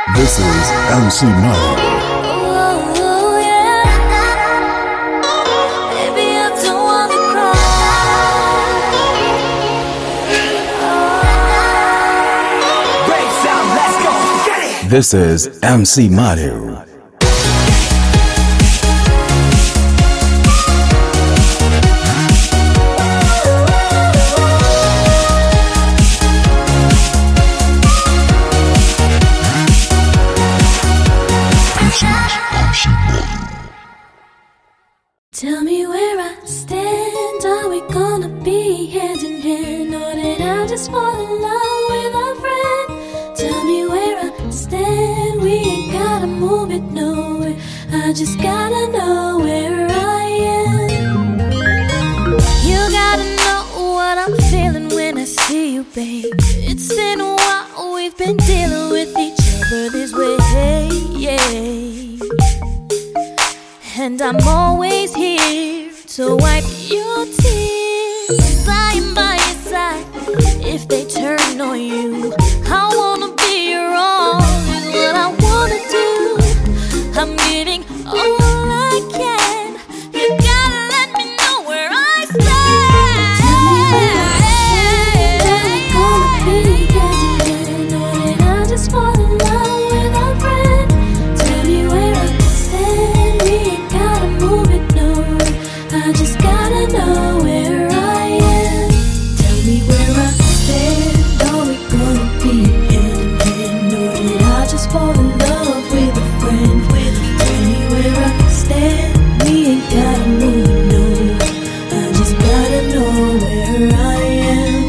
This is MC Money. This is MC Madhu. Tell me where I stand. Are we gonna be hand in hand, or did I just fall in love with a friend? Tell me where I stand. We ain't gotta move it nowhere. I just gotta know where I am. You gotta know what I'm feeling when I see you, babe. It's been a while, we've been dealing with each other this way, yeah. And I'm always here to wipe your tears. Lying by your side if they turn on you. I wanna be your all, is what I wanna do. I'm giving all I can. You gotta let me know where I stand. Tell me gonna be hand in hand, or did I just fall in love with a friend? Tell me where I stand. We ain't gotta move it nowhere. I just gotta know where I am. Tell me where I stand. Are we gonna be hand in hand, or did I just fall in love with a friend? Tell me where I stand. We ain't gotta move it nowhere. I just gotta know where I am.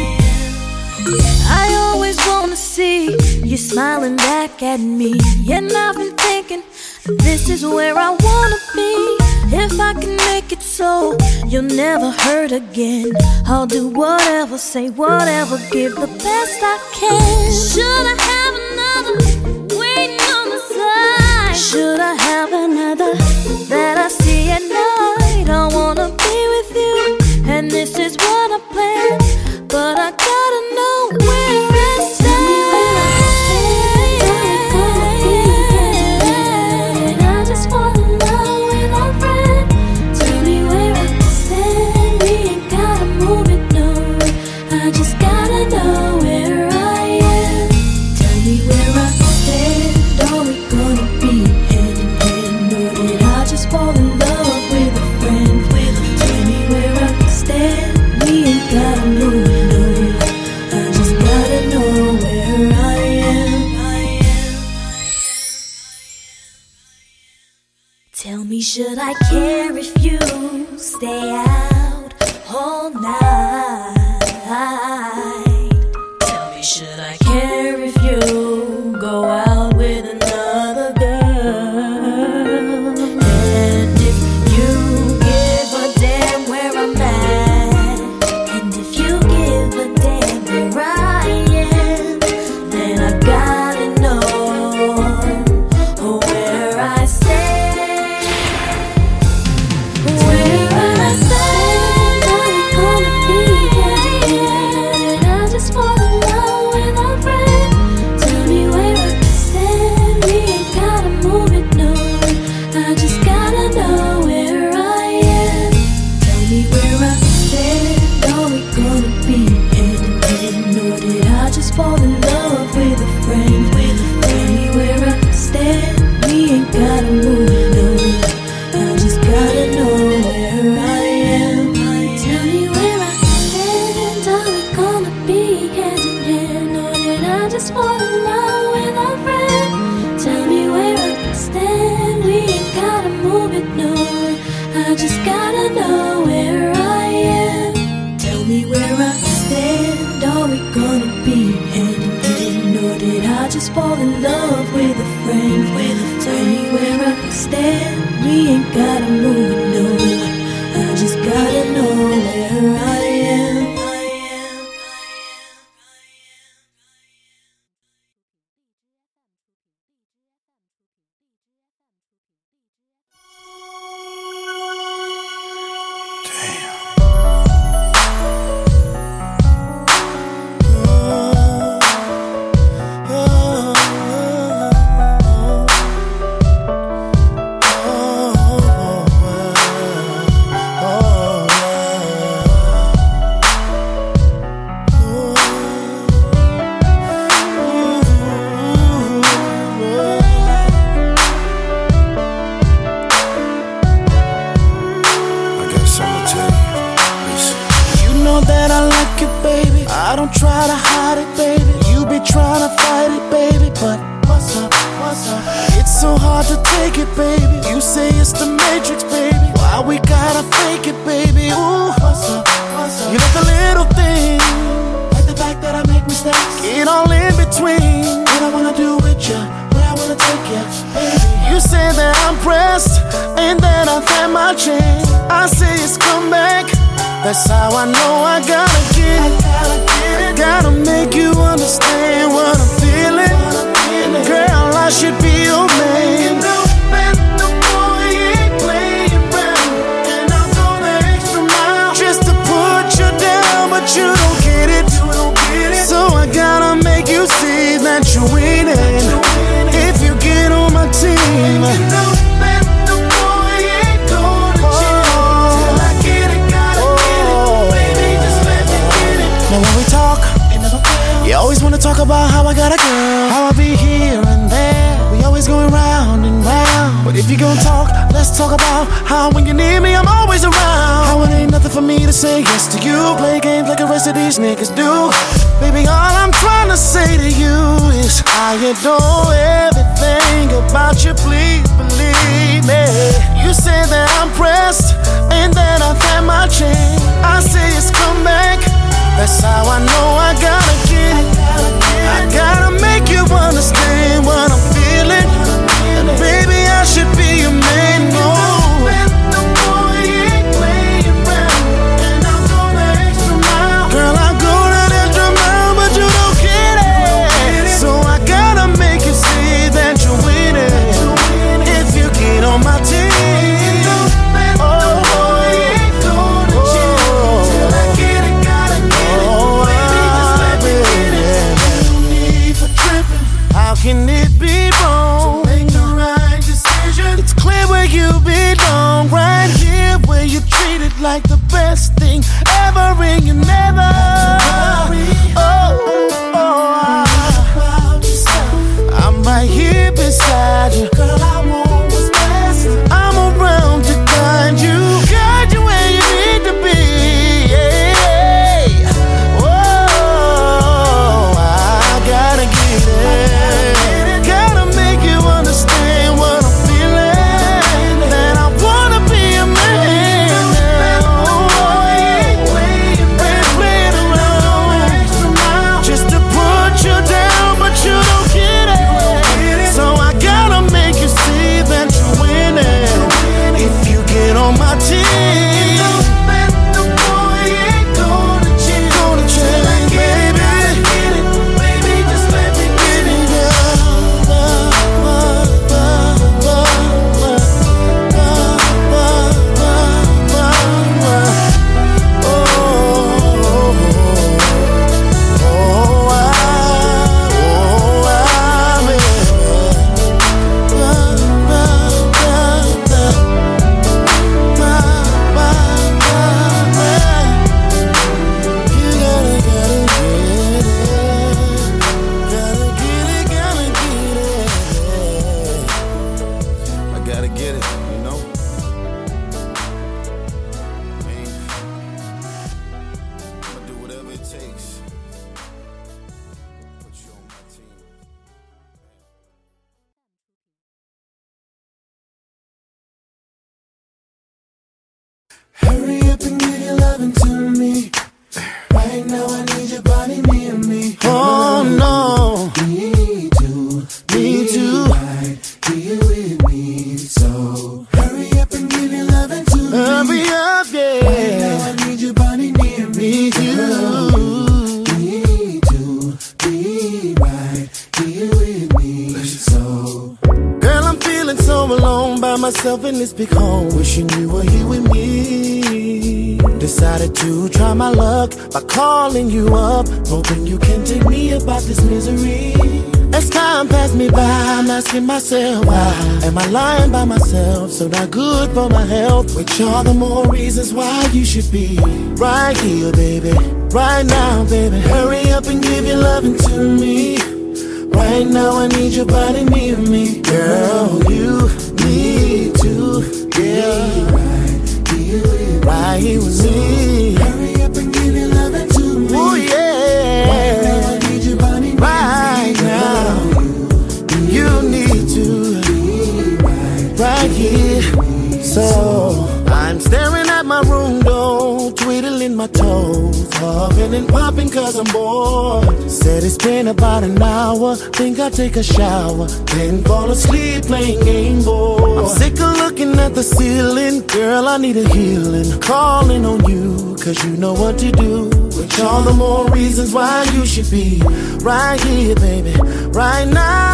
I always wanna see you smiling back at me, and I've been thinking this is where I wanna be. If I can make it so you'll never hurt again, I'll do whatever, say whatever, give the best I can. Should I have another waiting on the side? Should I have another that I see at night? I wanna be with you, and this is what I plan, but I gotta know where I stand. I just gotta know where I am. Tell me where I stand. Are we gonna be hand in hand, or did I just fall in love with a friend? Tell me where I stand. We ain't gotta move it nowhere. I just gotta know where I am. Tell me, should I care if you stay out all night? Tell me, should I care if you go out with another girl? And if you give a damn where I'm at, and if you give a damn where I am, then I gotta know where I stand. Where I stand, are we gonna be hand in hand? I just fall in love with a friend. Tell me where I stand. We ain't gotta move it nowhere. I just gotta know where I am. Tell me where I stand. Are we gonna be hand in hand, or did I just fall in love with a friend? Tell me where I stand. We ain't gotta move it nowhere. I just gotta know where I am. Tell me where I stand. Are we gonna be hand in hand, or did I just fall in love with a friend? Tell me where I stand. We ain't gotta move it nowhere. I just gotta know where I am. Tell me where I stand. Are we gonna be hand in hand, or did I just fall in love with a friend? Tell me where I stand. We ain't gotta move it nowhere. I just gotta know where I am. Damn. it, baby. You say it's the Matrix, baby. Why we gotta fake it, baby? Ooh, what's up? You got the little thing, like the fact that I make mistakes. Get all in between what I wanna do with you, where I wanna take you, baby. You say that I'm pressed, and that I've had my chance. I say it's come back. That's how I know I gotta get it. Gotta make you understand what I'm feeling. Girl, I should be your man. The boy ain't playing around, and I'm going the extra mile just to put you down, but you don't get it. So I gotta make you see that you're winning. If you get on my team, the boy ain't gonna chill till I get it. Gotta get it, baby, just let me get it. Now when we talk, it never fails. You always wanna talk about how I got a girl, how I be here and there. We always going round and round. But if you gon' talk, let's talk about how when you need me, I'm always around. How it ain't nothing for me to say yes to you. Play games like the rest of these niggas do. Baby, all I'm trying to say to you is I adore everything about you, please believe me. You say that I'm pressed, and that I've had my chance. I say it's come back. That's how I know I gotta get it. I gotta make you understand what I'm feeling. And baby, I should be your man. The boy ain't playing around, and I'm going the extra mile. Girl, I go that extra mile, but you don't get it. So I gotta make you see that you're winning. If you get on my team. Can it be wrong to make the right decision? It's clear where you belong, right here where you treated like the best thing ever, and you never. I'm right here beside you, girl. I want what's best. I'm around to guide you where you need to be. I gotta get it. Hurry up and give your loving to me. Right now I need your body near me. Oh no, me too. Right here with me. So hurry up and give your loving to me. Hurry up, yeah. Right now I need your body near me. Me too. Be right here with me. So girl, I'm feeling so alone by myself in this big home. Wishing you were here with me. Decided to try my luck by calling you up, hoping you can take me about this misery. As time passed me by, I'm asking myself, why am I lying by myself? So not good for my health. Which are the more reasons why you should be right here, baby. Right now, baby. Hurry up and give your loving to me. Right now I need your body near me. Girl, you need to, yeah. Right here with me. Hurry up and give your loving to me. Oh yeah. Right now I need your body right now. You need to be So I'm staring at my room door, twiddling my toes, huffing and popping cause I'm bored. Said it's been about an hour, think I'll take a shower, then fall asleep playing Game Boy. I'm sick of looking at the ceiling, girl I need a healing. Calling on you, cause you know what to do. Which all the more reasons why you should be right here, baby, right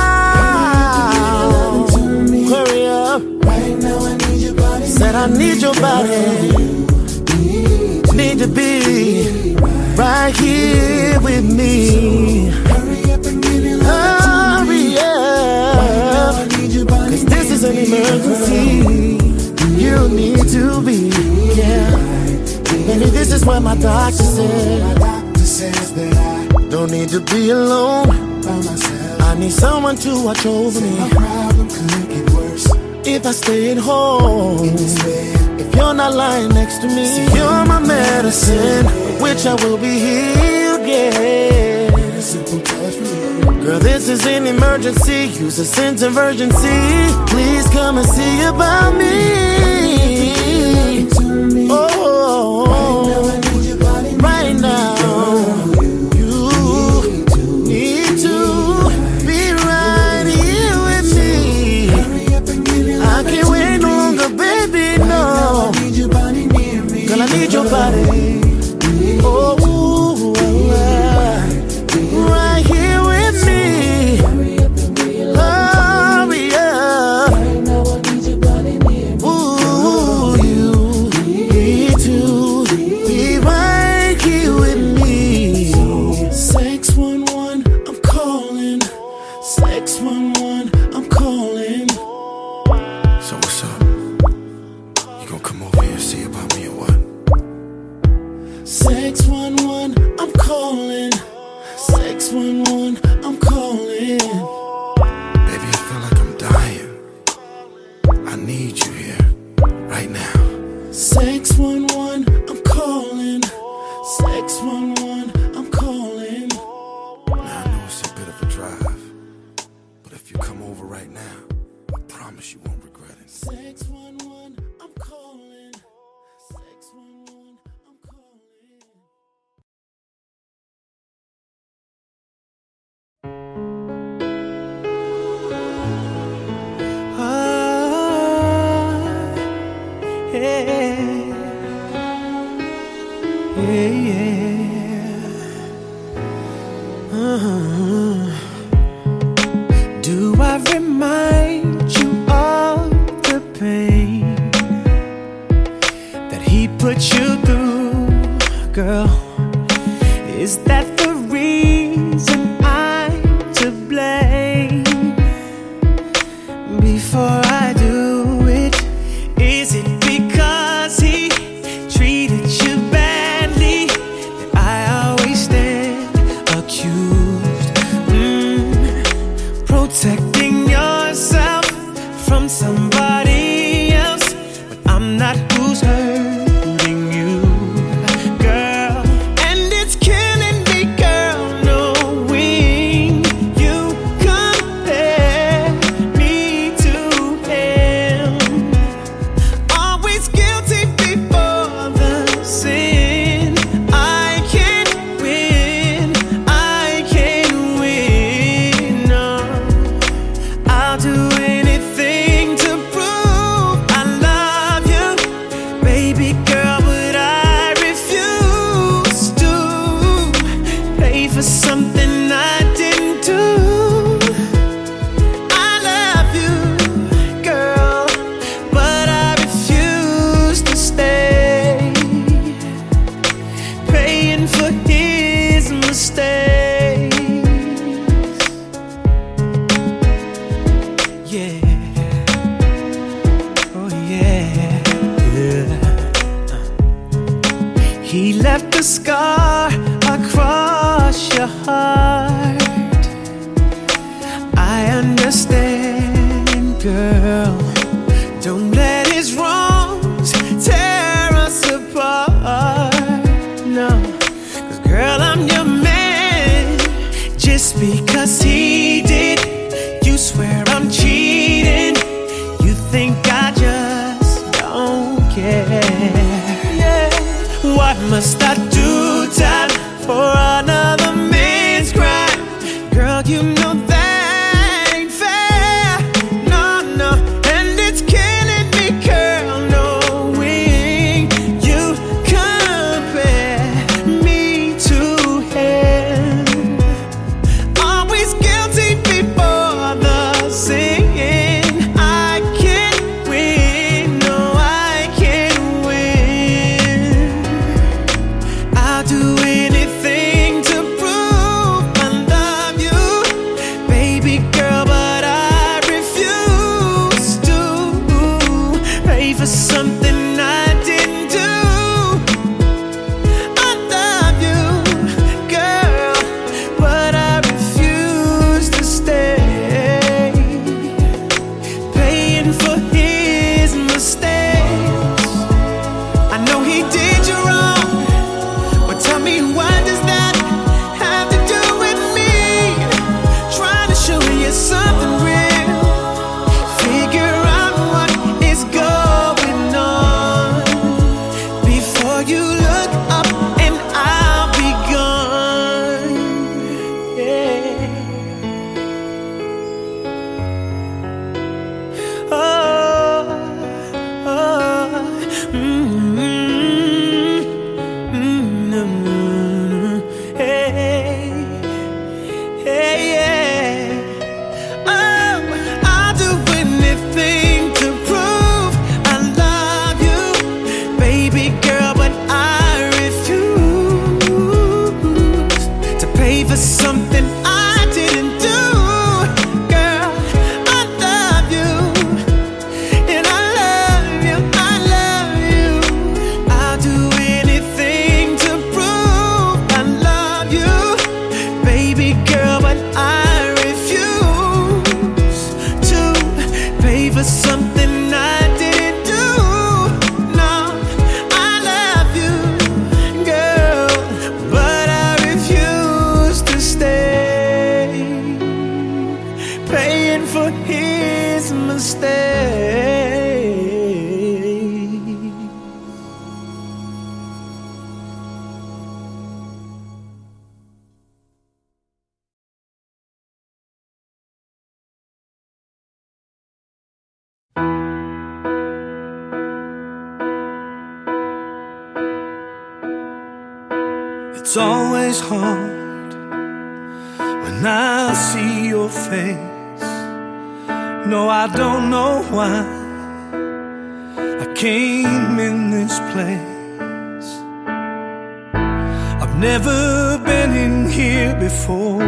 now. Hurry up. Right now I need your body. Said I need your body. Need to be right here with me. Hurry up and get it. Hurry up. Cause this is an emergency. You need to be, yeah. Baby, this is what my doctor said. My doctor says that I don't need to be alone by myself. I need someone to watch over me. My problem could get worse if I stay at home. If you're not lying next to me, see, you're my medicine, which I will be healed, yeah. Girl, this is an emergency. Use a sense of urgency. Please come and see about me. Oh, right now, you need to be right here with me. I can't wait no longer, baby, no. Girl, I need your body. Oh, right here with me. Hurry up. Ooh, you need to be right here with me. 611, I'm calling. 611, I'm calling. So what's up? You gonna come over here and see about me or what? 611, I'm calling. 611, I'm calling. Baby, I feel like I'm dying. I need you here, right now. 611, I'm calling. 611, I'm calling. Now I know it's a bit of a drive, but if you come over right now, I promise you won't regret it. 611, I'm calling. 611, I'm calling. Do I remind you of the pain that he put you through, girl? Is that the reason I'm to blame? Before I do it, is it because he treated you badly that I always stand accused? Protecting yourself from somebody else, but I'm not who's hurting you, girl. And it's killing me, girl, knowing you compare me to him. Always guilty before the sin. I can't win, I can't win, no. I'll do anything to prove I love you, baby girl, but I refuse to pay for something I didn't do. I love you, girl, but I refuse to stay paying for his mistakes. Yeah. Oh yeah. He left a scar across your heart. I understand, girl. Don't let his wrongs tear us apart. No, 'cause girl, I'm your man. Just because he did, you swear I'm cheating. You think I just don't paying for his mistake. It's always hard when I see your face. No, I don't know why I came in this place. I've never been in here before.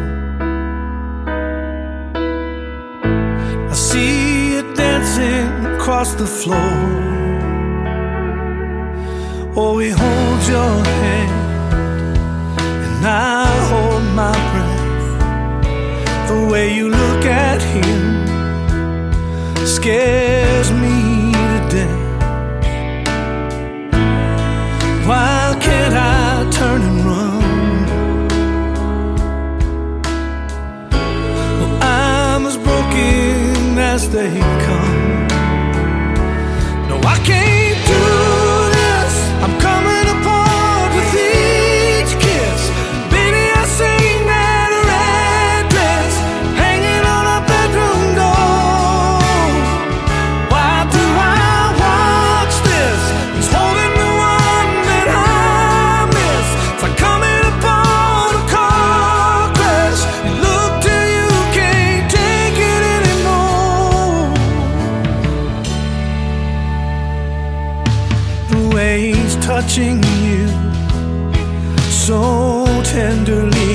I see you dancing across the floor. Oh, we hold your hand and I hold my breath. The way you look at him scares me to death. Why can't I turn and run? Well, I'm as broken as they come. No, I can't do this. I'm coming apart with each kiss. Baby, I sing that red dress hanging on a bedroom door. Why do I watch this? He's holding the one that I miss. It's like coming upon a car crash. You look till you can't take it anymore. The way he's touching you so tenderly,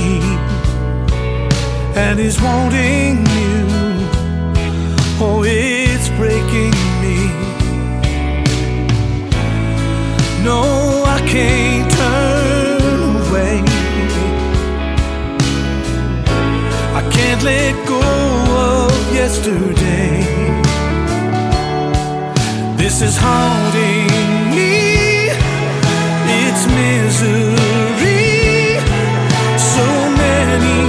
and he's wanting you. Oh, it's breaking me. No, I can't turn away. I can't let go of yesterday. This is haunting me. It's misery. So many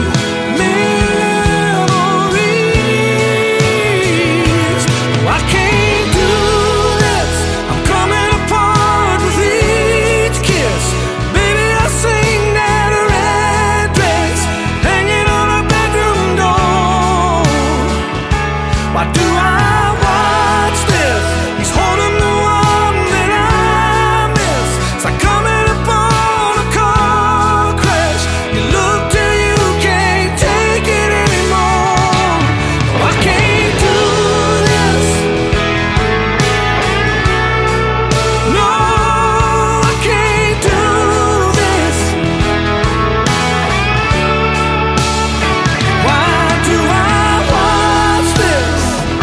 memories. Oh, I can't do this. I'm coming apart with each kiss. Baby, I sing that red dress hanging on a bedroom door. Why do I watch this? He's holding the one that I miss. It's like coming upon a car crash. You look till you can't take it anymore. Oh, I can't do this. No, I can't do this. Why do I watch this?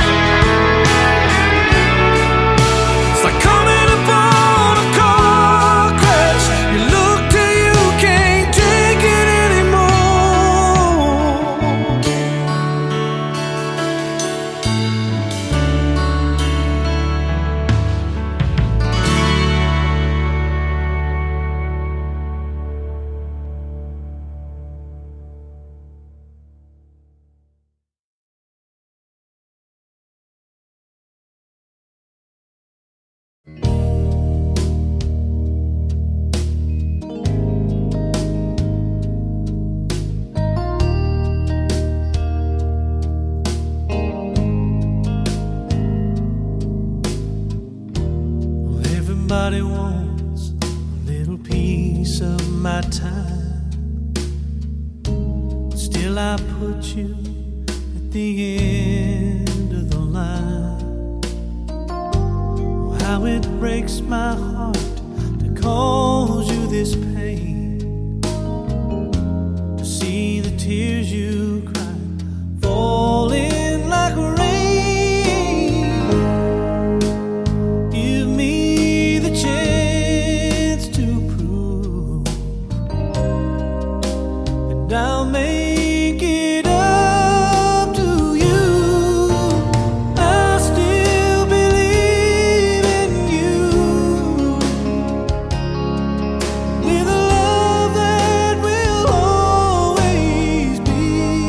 It's like coming upon a car crash. You look till you can't take it anymore. Well, everybody wants a little piece of my time. Still, I put you at the end of the line. Oh, how it breaks my heart to cause you this pain, to see the tears you cry falling like rain. Give me the chance to prove, and I'll make it up to you. I still believe in you, with a love that will always be.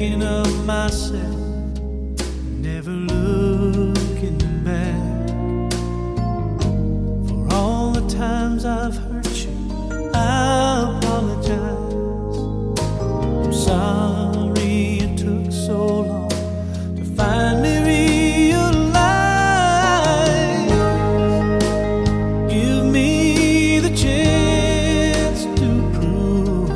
thinking of myself, never looking back. For all the times I've hurt you, I apologize. I'm sorry it took so long to finally realize. Give me the chance to prove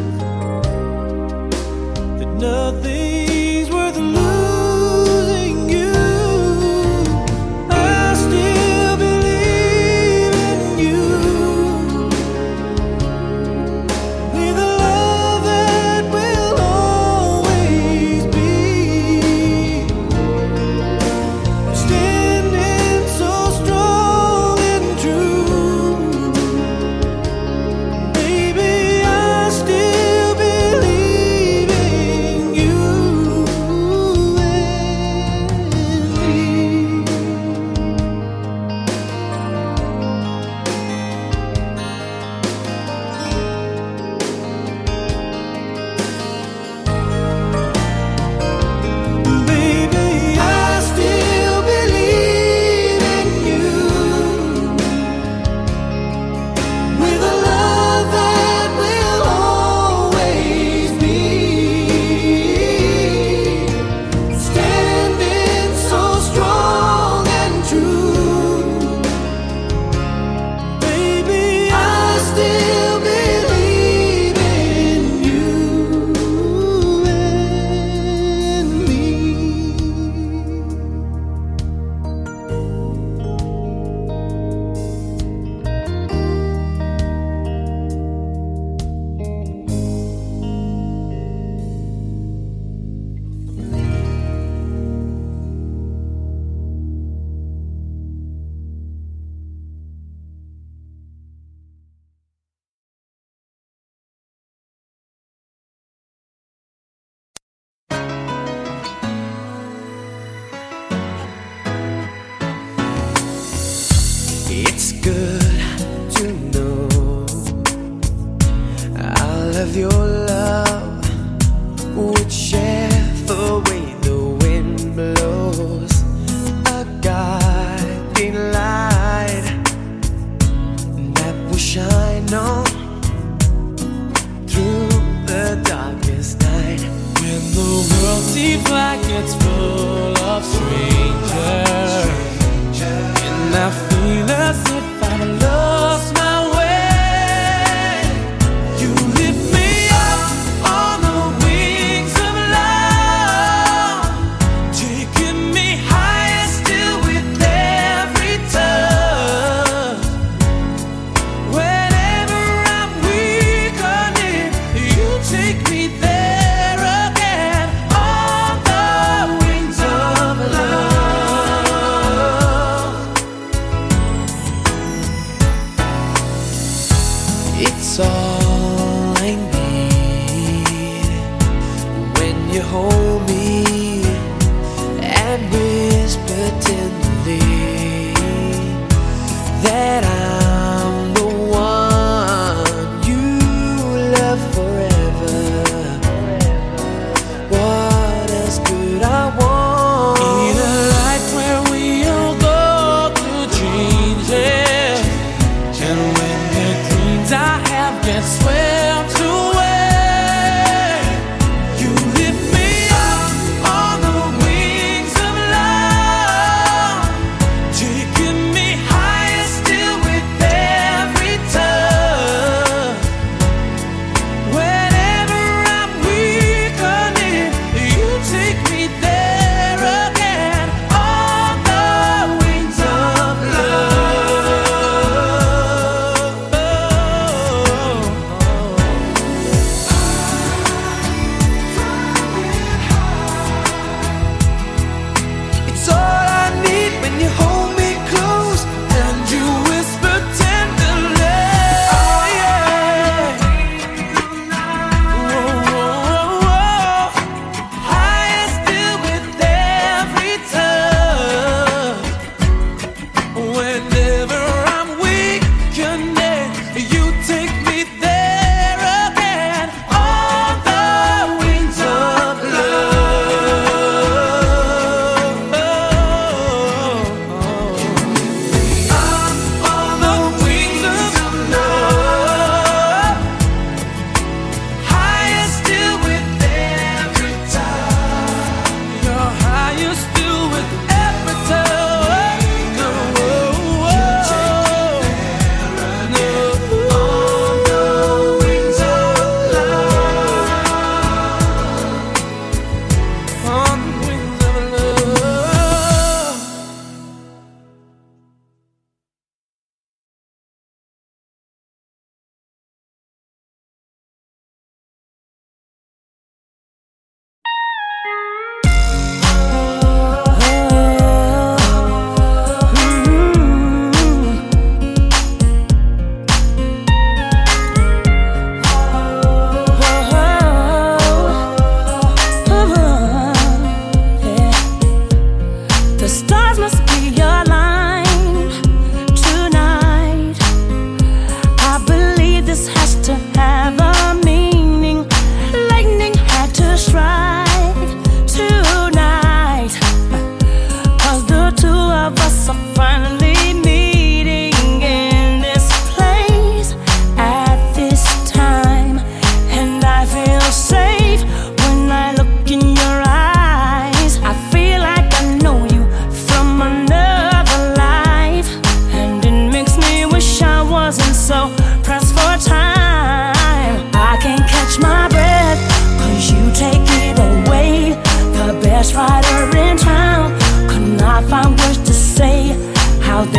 that nothing's worth losing you. I still believe in you, with a love that will always be standing so strong and true. Baby, I still believe in you and me. Baby, I still believe in you, with a love that will always be standing so strong and true. Baby, I still believe in you and me. It's good to know all of your love, whichever way the wind blows, a guiding light that will shine on through the darkest night. When the world seems like it's full of strangers, and I feel as if I've lost my way, you lift me up on the wings of love, taking me higher still with every touch. Whenever I'm weak or near, you take me there again on the wings of love. It's all I need when you hold me and whisper tenderly that I'm the one you love forever. What else could I want? In a life where we all go through changes, and when the dreams I have get swept away, you lift me up on the wings of love,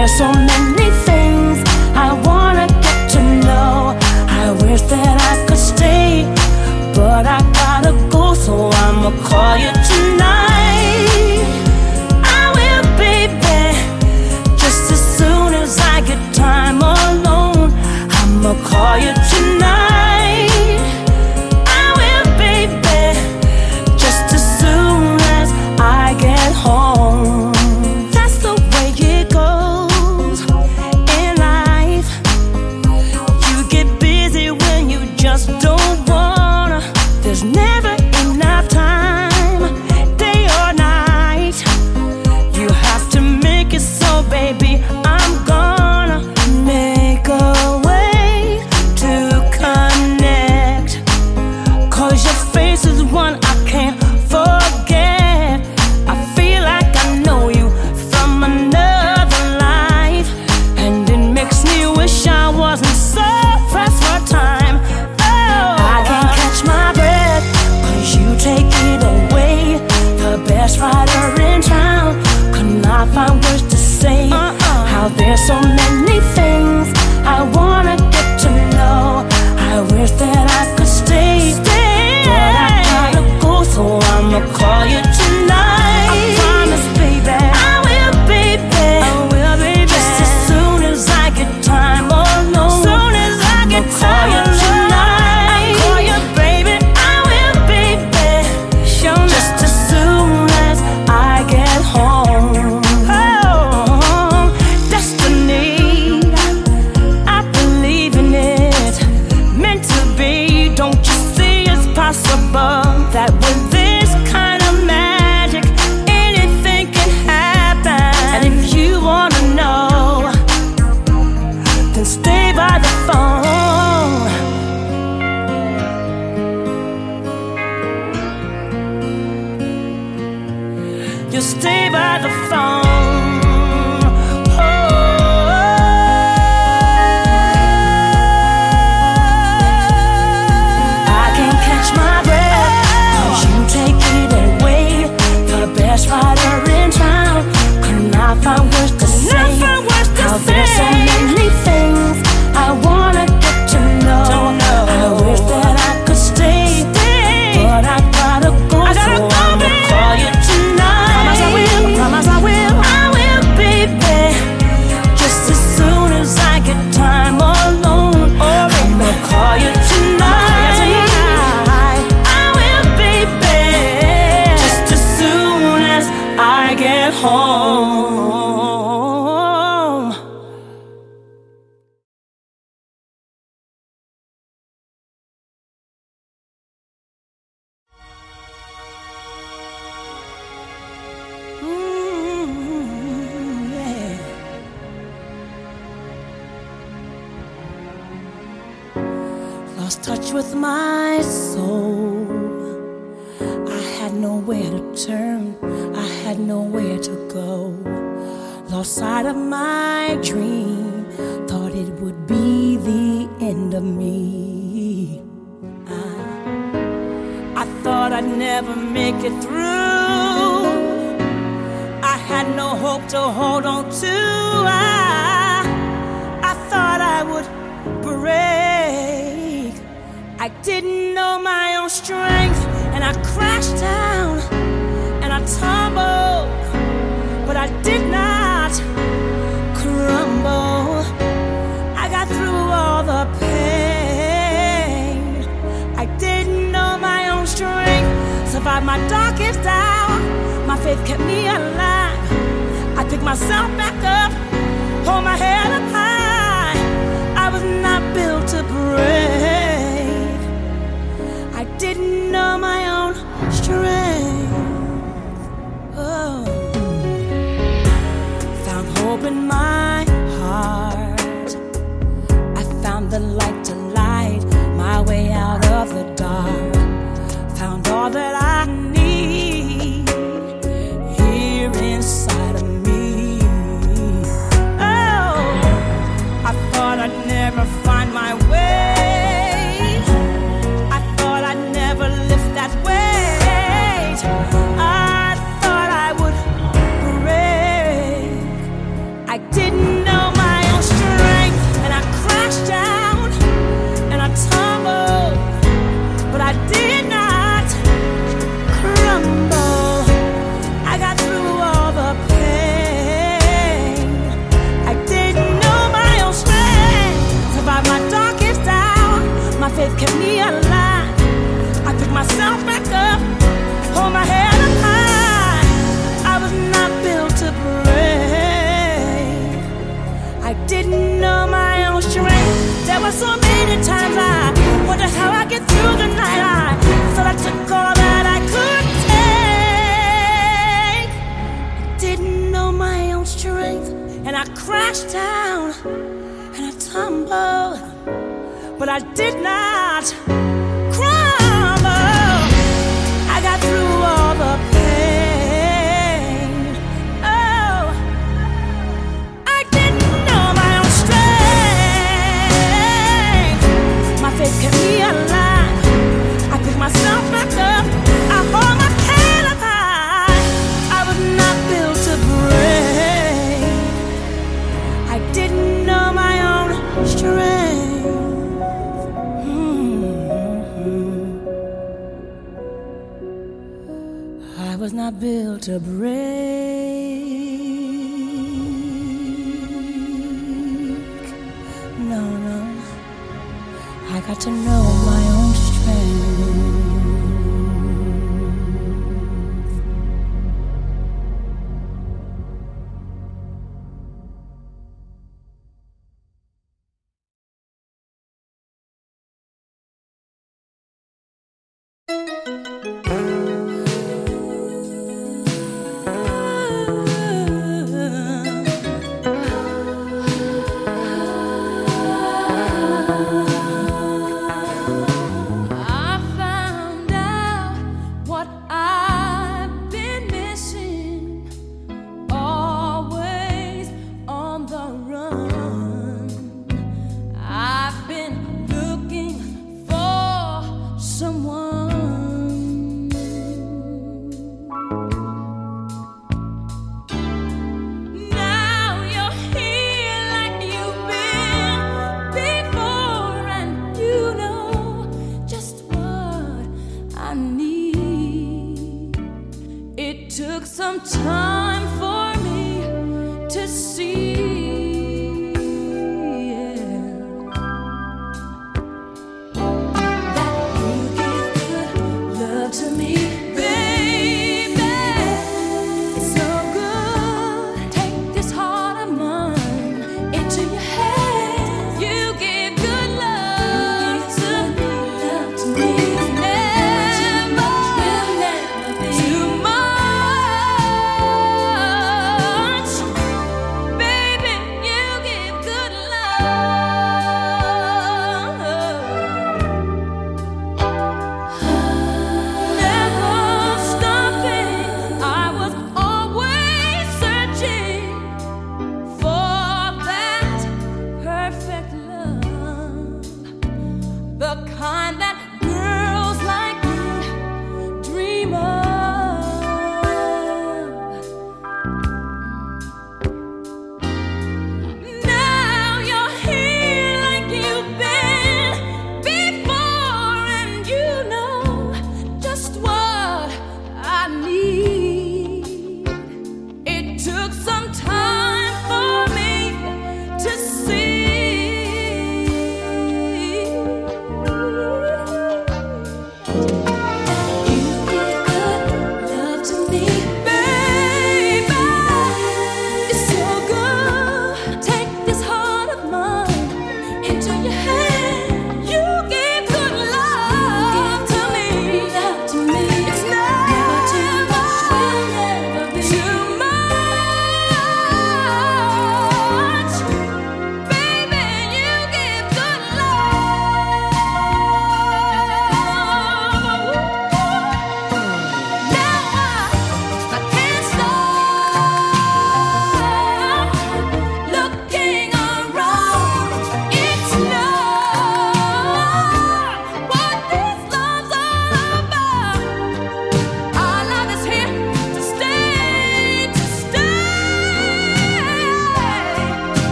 there's so many things I wanna get to know. I wish that I could stay, but I gotta go, so I'ma call you tonight. I will, baby, just as soon as I get time alone. I'ma call you tonight. I will, baby, just as soon as I get home. That's the way it goes in life. You get busy when you just don't wanna. There's never enough time, day or night. You have to make it so, baby, I'm gonna make a way to connect. 'Cause your face is one I can't forget. I feel like I know you from another life, and it makes me wish I wasn't so pressed for time. Oh, I can't catch my breath, 'cause you take it away. The best writer in town could not find words to say. How there's so many things I wanna get to know. I wish that I could stay, but I gotta go, so I'ma call you tonight. I promise, baby, I will, baby, I will, baby, just as soon as I get time alone. Soon as I get time alone, I call you, baby, I will, baby, show me just as soon as I get home. Oh, destiny, I believe in it, meant to be. Don't you see it's possible that with this kind of magic anything can happen? And if you wanna know, then stay by the phone. You stay by the phone. I can't catch my breath, 'cause you take it away. The best writer in town could not find words to say. How there's so many things I wanna get to know. I wish that I could stay, but I gotta go, so I'ma call you tonight. Promise I will, promise I will, I will, baby, just as soon as I get time alone. I'ma call you tonight. I will, baby, just as soon as I get home. Yeah. Lost touch with my soul. I had nowhere to turn, I had nowhere to go. Lost sight of my dream, thought it would be the end of me. I thought I'd never make it through. I had no hope to hold on to. I thought I would break. I didn't know my own strength, and I crashed down and I tumbled, but I did not crumble. I got through all the pain. I didn't know my own strength, survived my darkest hour. My faith kept me alive. I picked myself back up, hold my head up high. I was not built to break. I didn't know my own strength. Oh. Found hope in my heart. I found the light to light my way out of the dark. Found all that I need here inside of me. Oh, and I tumbled, but I did not crumble. I got through all the pain. Oh, I didn't know my own strength. My faith kept me alive. I picked myself back up. I hold my head up high. I was not built to break. I didn't know my own strength. I was not built to break. No, no. I got to know my own strength.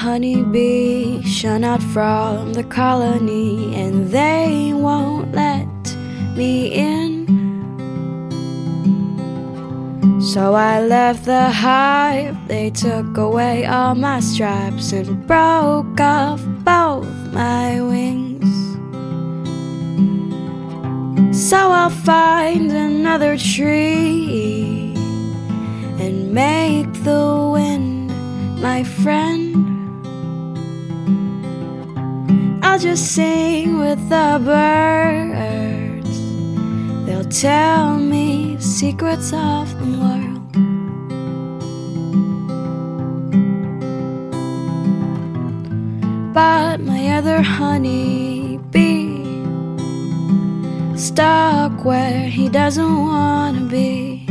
honeybee shun out from the colony, and they won't let me in. So I left the hive, they took away all my stripes and broke off both my wings. So I'll find another tree and make the wind my friend. I'll just sing with the birds, they'll tell me secrets of the world. But my other honeybee stuck where he doesn't want to be.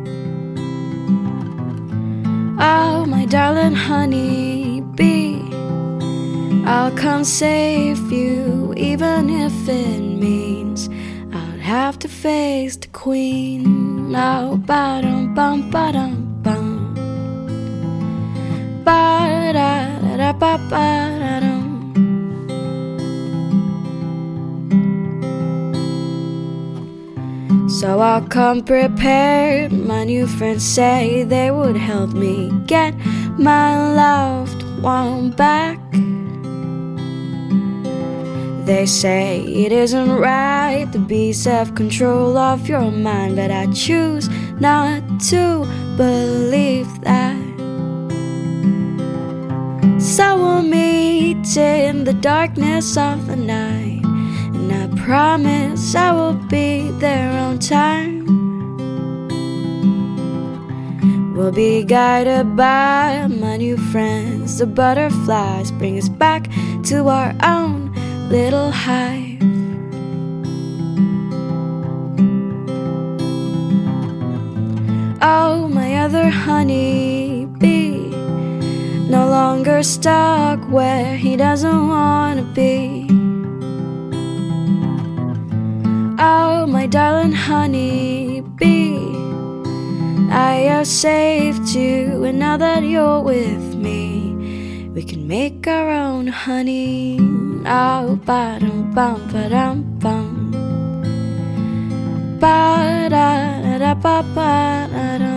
Oh, my darling honeybee, I'll come save you, even if it means I'll have to face the queen. Oh, ba-dum bum ba-dum bum, ba-da-da-da-ba-ba-da-dum. So I'll come prepared. My new friends say they would help me get my loved one back. They say it isn't right to be self-control of your mind, but I choose not to believe that. So we'll meet in the darkness of the night, and I promise I will be there on time. We'll be guided by my new friends. The butterflies bring us back to our own little hive. Oh, my other honeybee, no longer stuck where he doesn't want to be. Oh, my darling honeybee, I have saved you, and now that you're with me, we can make our own honey. Oh, ba-dum bum ba-dum bum, ba-da-da-da-ba-ba-da-dum.